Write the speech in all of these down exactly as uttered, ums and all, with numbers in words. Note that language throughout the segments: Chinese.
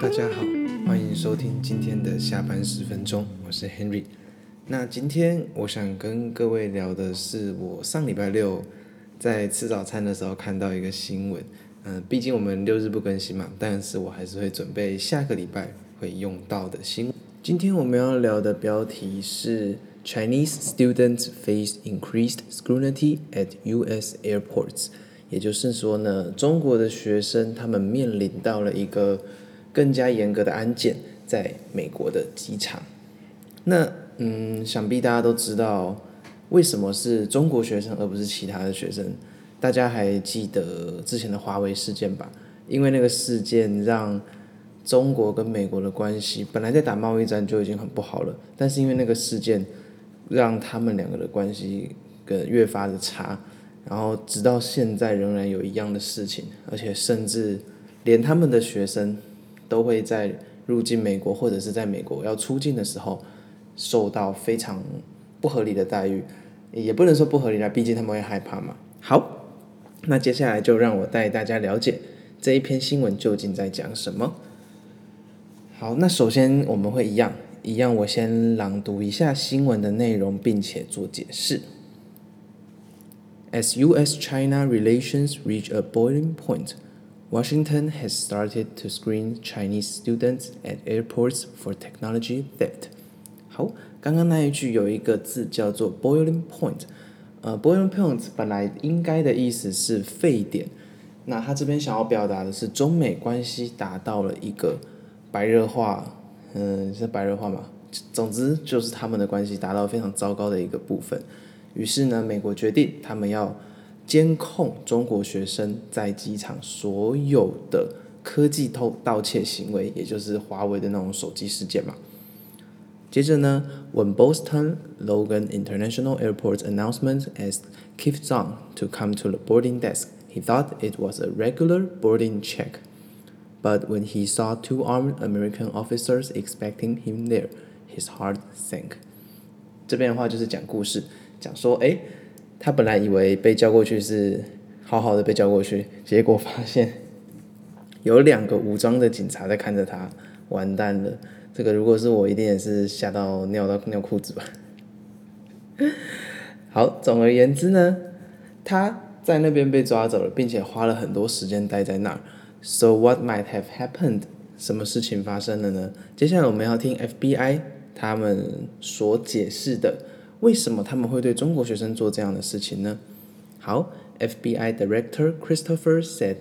大家好，歡迎收聽今天的下班十分鐘，我是 Henry。那今天我想跟各位聊的是，我上禮拜六在吃早餐的時候看到一個新聞。嗯、呃，畢竟我們六日不更新嘛，但是我還是會準備下個禮拜會用到的新聞。今天我們要聊的標題是 Chinese students face increased scrutiny at U S airports， 也就是說呢，中國的學生他們面臨到了一個更加嚴格的安檢，在美國的機場。那嗯，想必大家都知道，為什麼是中國學生而不是其他的學生？大家還記得之前的華為事件吧？因為那個事件讓中國跟美國的關係本來在打貿易戰就已經很不好了，但是因為那個事件，讓他們兩個的關係更越發的差，然後直到現在仍然有一樣的事情，而且甚至連他們的學生都會在入境美國或者是在美國要出境的時候受到非常不合理的待遇，也不能說不合理啦，畢竟他們會害怕嘛。好，那接下來就讓我帶大家了解這一篇新聞究竟在講什麼。好，那首先我們會一樣一樣，我先朗讀一下新聞的內容，並且做解釋。As U S-China relations reach a boiling point, Washington has started to screen Chinese students at airports for technology theft. 好，剛剛那一句有一個字叫做 boiling point， 呃 boiling point 本來應該的意思是沸點，那他這邊想要表達的是中美關係達到了一個白熱化，嗯、呃，是白熱化嗎？總之就是他們的關係達到非常糟糕的一個部分。於是呢，美國決定他們要監控中國學生在機場所有的科技偷盜竊行為，也就是華為的那種手機事件嘛。接着呢 ，When Boston Logan International Airport's announcement asked Keith Zhang to come to the boarding desk, he thought it was a regular boarding check. But when he saw two armed American officers expecting him there, his heart sank. 這邊的話就是講故事，講說，誒，他本來以為被叫過去是好好的被叫過去，結果發現有兩個武裝的警察在看着他，完蛋了。這個如果是我，一定也是嚇到尿到尿褲子吧。好，總而言之呢，他在那邊被抓走了，並且花了很多時間待在那兒。So what might have happened？ 什麼事情發生了呢？接下來我們要聽 F B I 他們所解釋的，為什麼他們會對中國學生做這樣的事情呢？好 ，F B I Director Christopher said,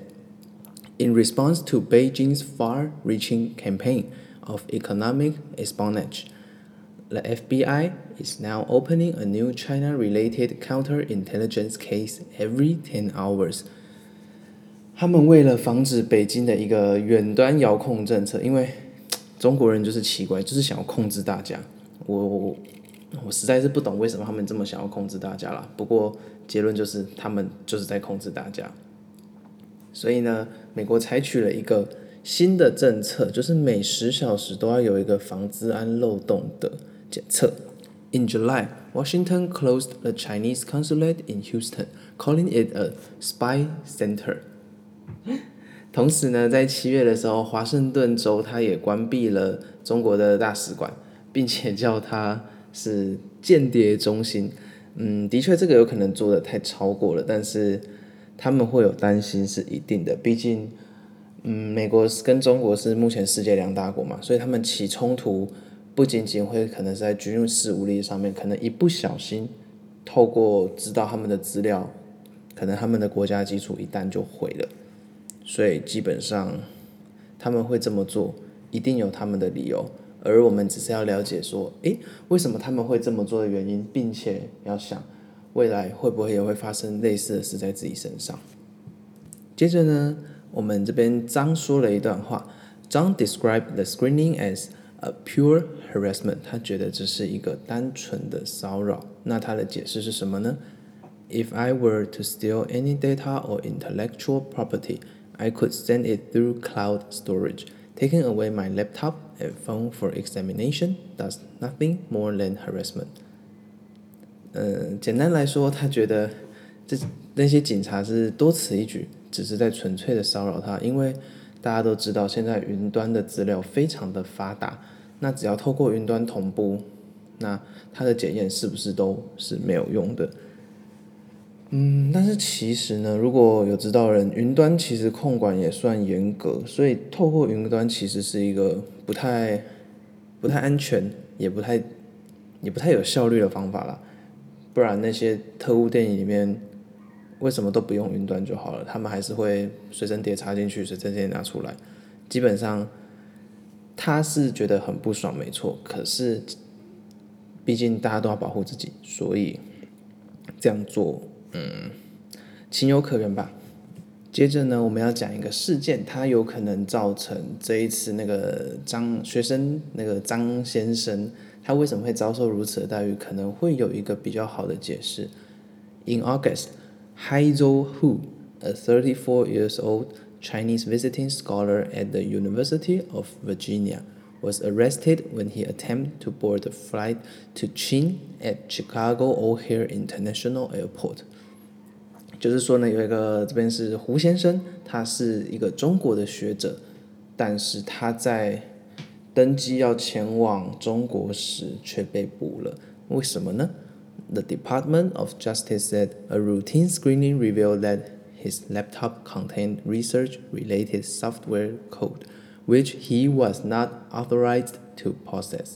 in response to Beijing's far-reaching campaign of economic espionage, the F B I is now opening a new China-related counterintelligence case every ten hours. 他們為了防止北京的一個遠端遙控政策，因為中國人就是奇怪，就是想要控制大家。我我我實在是不懂為什麼他們這麼想要控制大家啦。不過結論就是他們就是在控制大家。所以呢，美國採取了一個新的政策，就是每十小時都要有一個防資安漏洞的檢測。In July, Washington closed the Chinese consulate in Houston, calling it a spy center. 同時呢，在七月的時候，華盛頓州它也關閉了中國的大使館，並且叫它是間諜中心。嗯，的確這個有可能做得太超過了，但是他們會有擔心是一定的，畢竟嗯，美國跟中國是目前世界兩大國嘛，所以他們起衝突不僅僅會可能是在軍事武力上面，可能一不小心透過知道他們的資料，可能他們的國家基礎一旦就毀了。所以基本上他們會這麼做，一定有他們的理由，而我們只是要了解說，誒，為什麼他們會這麼做的原因，並且要想未來會不會也會發生類似的事在自己身上。接着呢，我們這邊張說了一段話，張 described the screening as a pure harassment， 他覺得這是一個單純的騷擾。那他的解釋是什麼呢？ If I were to steal any data or intellectual property, I could send it through cloud storage. Taking away my laptop and phone for examination does nothing more than harassment. 呃，簡單來說，他覺得這那些警察是多此一舉，只是在純粹的騷擾他，因為大家都知道，現在雲端的資料非常的發達，那只要透過雲端同步，那它的檢驗是不是都是沒有用的？嗯，但是其實呢，如果有知道的人，雲端其實控管也算嚴格，所以透過雲端其實是一個不太不太安全，也不太也不太有效率的方法啦。不然那些特務電影裡面，為什麼都不用雲端就好了？他們還是會隨身碟插進去，隨身碟拿出來。基本上，他是覺得很不爽，沒錯。可是，畢竟大家都要保護自己，所以這樣做，嗯，情有可原吧。接着呢，我們要講一個事件，它有可能造成這一次那個張學生那個張先生，他為什麼會遭受如此的待遇，可能會有一個比較好的解釋。In August,Haizhou Hu, a thirty-four years old Chinese visiting scholar at the University of Virginia, was arrested when he attempted to board a flight to Chin at Chicago O'Hare International Airport. 就是說呢，有一個這邊是胡先生，他是一個中國的學者，但是他在登機要前往中國時卻被捕了，為什麼呢？The Department of Justice said a routine screening revealed that his laptop contained research-related software code, which he was not authorized to possess.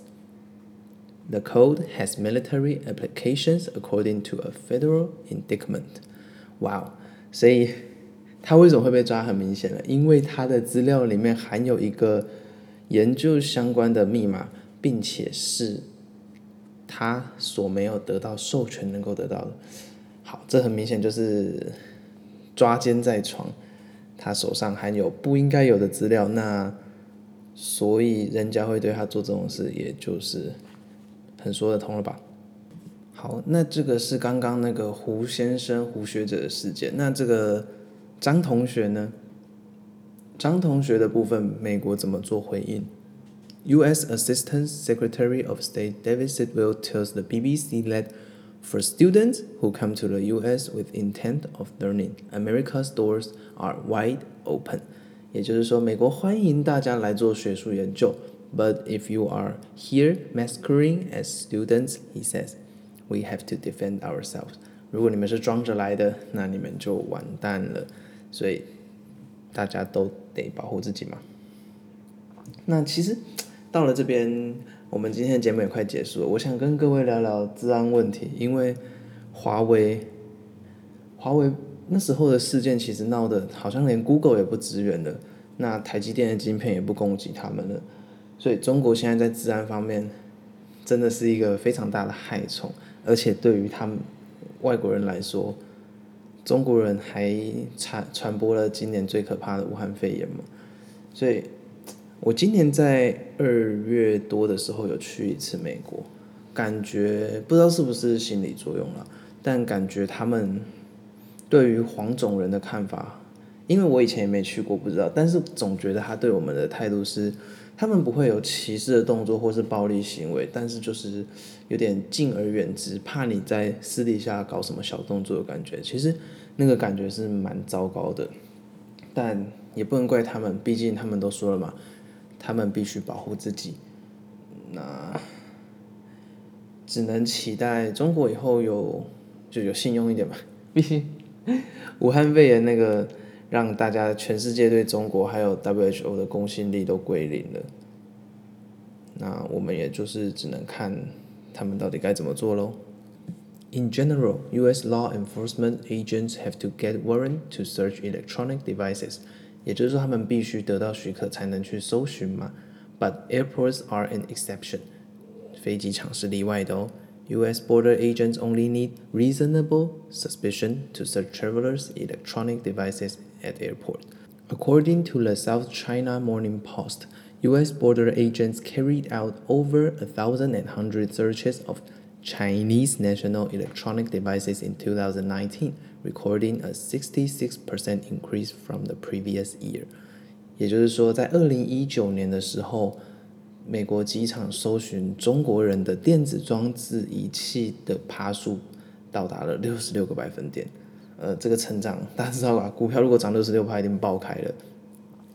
The code has military applications according to a federal indictment. 哇哦，所以他為什麼會被抓？很明顯了，因為他的資料裡面含有一個研究相關的密碼，並且是他所沒有得到授權能夠得到的。好，這很明顯就是抓姦在床，他手上含有不應該有的資料，那所以人家會對他做這種事，也就是很說得通了吧。好，那這個是剛剛那個胡先生胡學者的事件，那這個張同學呢？張同學的部分，美國怎麼做回應？U S Assistant Secretary of State David Sidwell tells the B B C that for students who come to the U S with intent of learning, America's doors are wide open. 也就是說，美國歡迎大家來做學術研究。But if you are here masquerading as students, he says, we have to defend ourselves. 如果你們是裝着來的，那你們就完蛋了。所以大家都得保護自己嘛。那其實到了這邊，我們今天的節目也快結束了。我想跟各位聊聊資安問題，因為華為，華為那時候的事件其實鬧得好像連 Google 也不支援了，那台積電的晶片也不攻擊他們了，所以中國現在在資安方面真的是一個非常大的害蟲，而且對於他們外國人來說，中國人還傳傳播了今年最可怕的武漢肺炎嘛，所以我今年在二月多的時候有去一次美國，感覺不知道是不是心理作用啦，但感覺他們對於黃種人的看法，因為我以前也沒去過，不知道，但是總覺得他對我們的態度是，他們不會有歧視的動作或是暴力行為，但是就是有點敬而遠之，怕你在私底下搞什麼小動作的感覺，其實那個感覺是蠻糟糕的，但也不能怪他們，畢竟他們都說了嘛，他們必須保護自己，那只能期待中國以後有就有信用一點吧，畢竟武漢肺炎那個讓大家全世界對中國還有 W H O 的公信力都歸零了，那我們也就是只能看他們到底該怎麼做咯。In general, U S law enforcement agents have to get warrant to search electronic devices. 也就是說，他們必須得到許可才能去搜尋嘛。But airports are an exception. 飛機場是例外的哦。U S border agents only need reasonable suspicion to search travelers' electronic devices at airport. According to the South China Morning Post, U S border agents carried out over a thousand and hundred searches of Chinese national electronic devices in two thousand nineteen, recording a sixty-six percent increase from the previous year. 也就是說，在二零一九年的時候，美國機場搜尋中國人的電子裝置儀器的趴數到達了六十六個百分點。呃，這個成長大家知道吧？股票如果漲六十六趴，一定爆開了。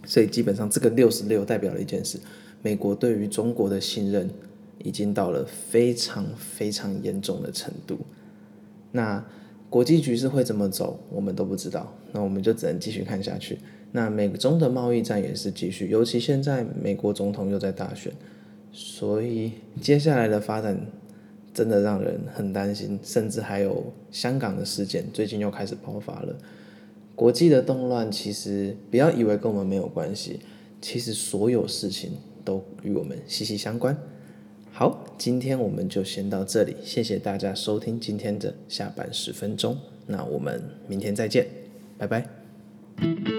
所以基本上這個六十六代表了一件事，美國對於中國的信任已經到了非常非常嚴重的程度。那國際局勢會怎麼走，我們都不知道，那我們就只能繼續看下去。那美中的貿易戰也是繼續，尤其現在美國總統又在大選，所以接下來的發展真的讓人很擔心，甚至還有香港的事件最近又開始爆發了。國際的動亂其實不要以為跟我們沒有關係，其實所有事情都與我們息息相關。好，今天我們就先到這裡，謝謝大家收聽今天的下班十分鐘，那我們明天再見，拜拜。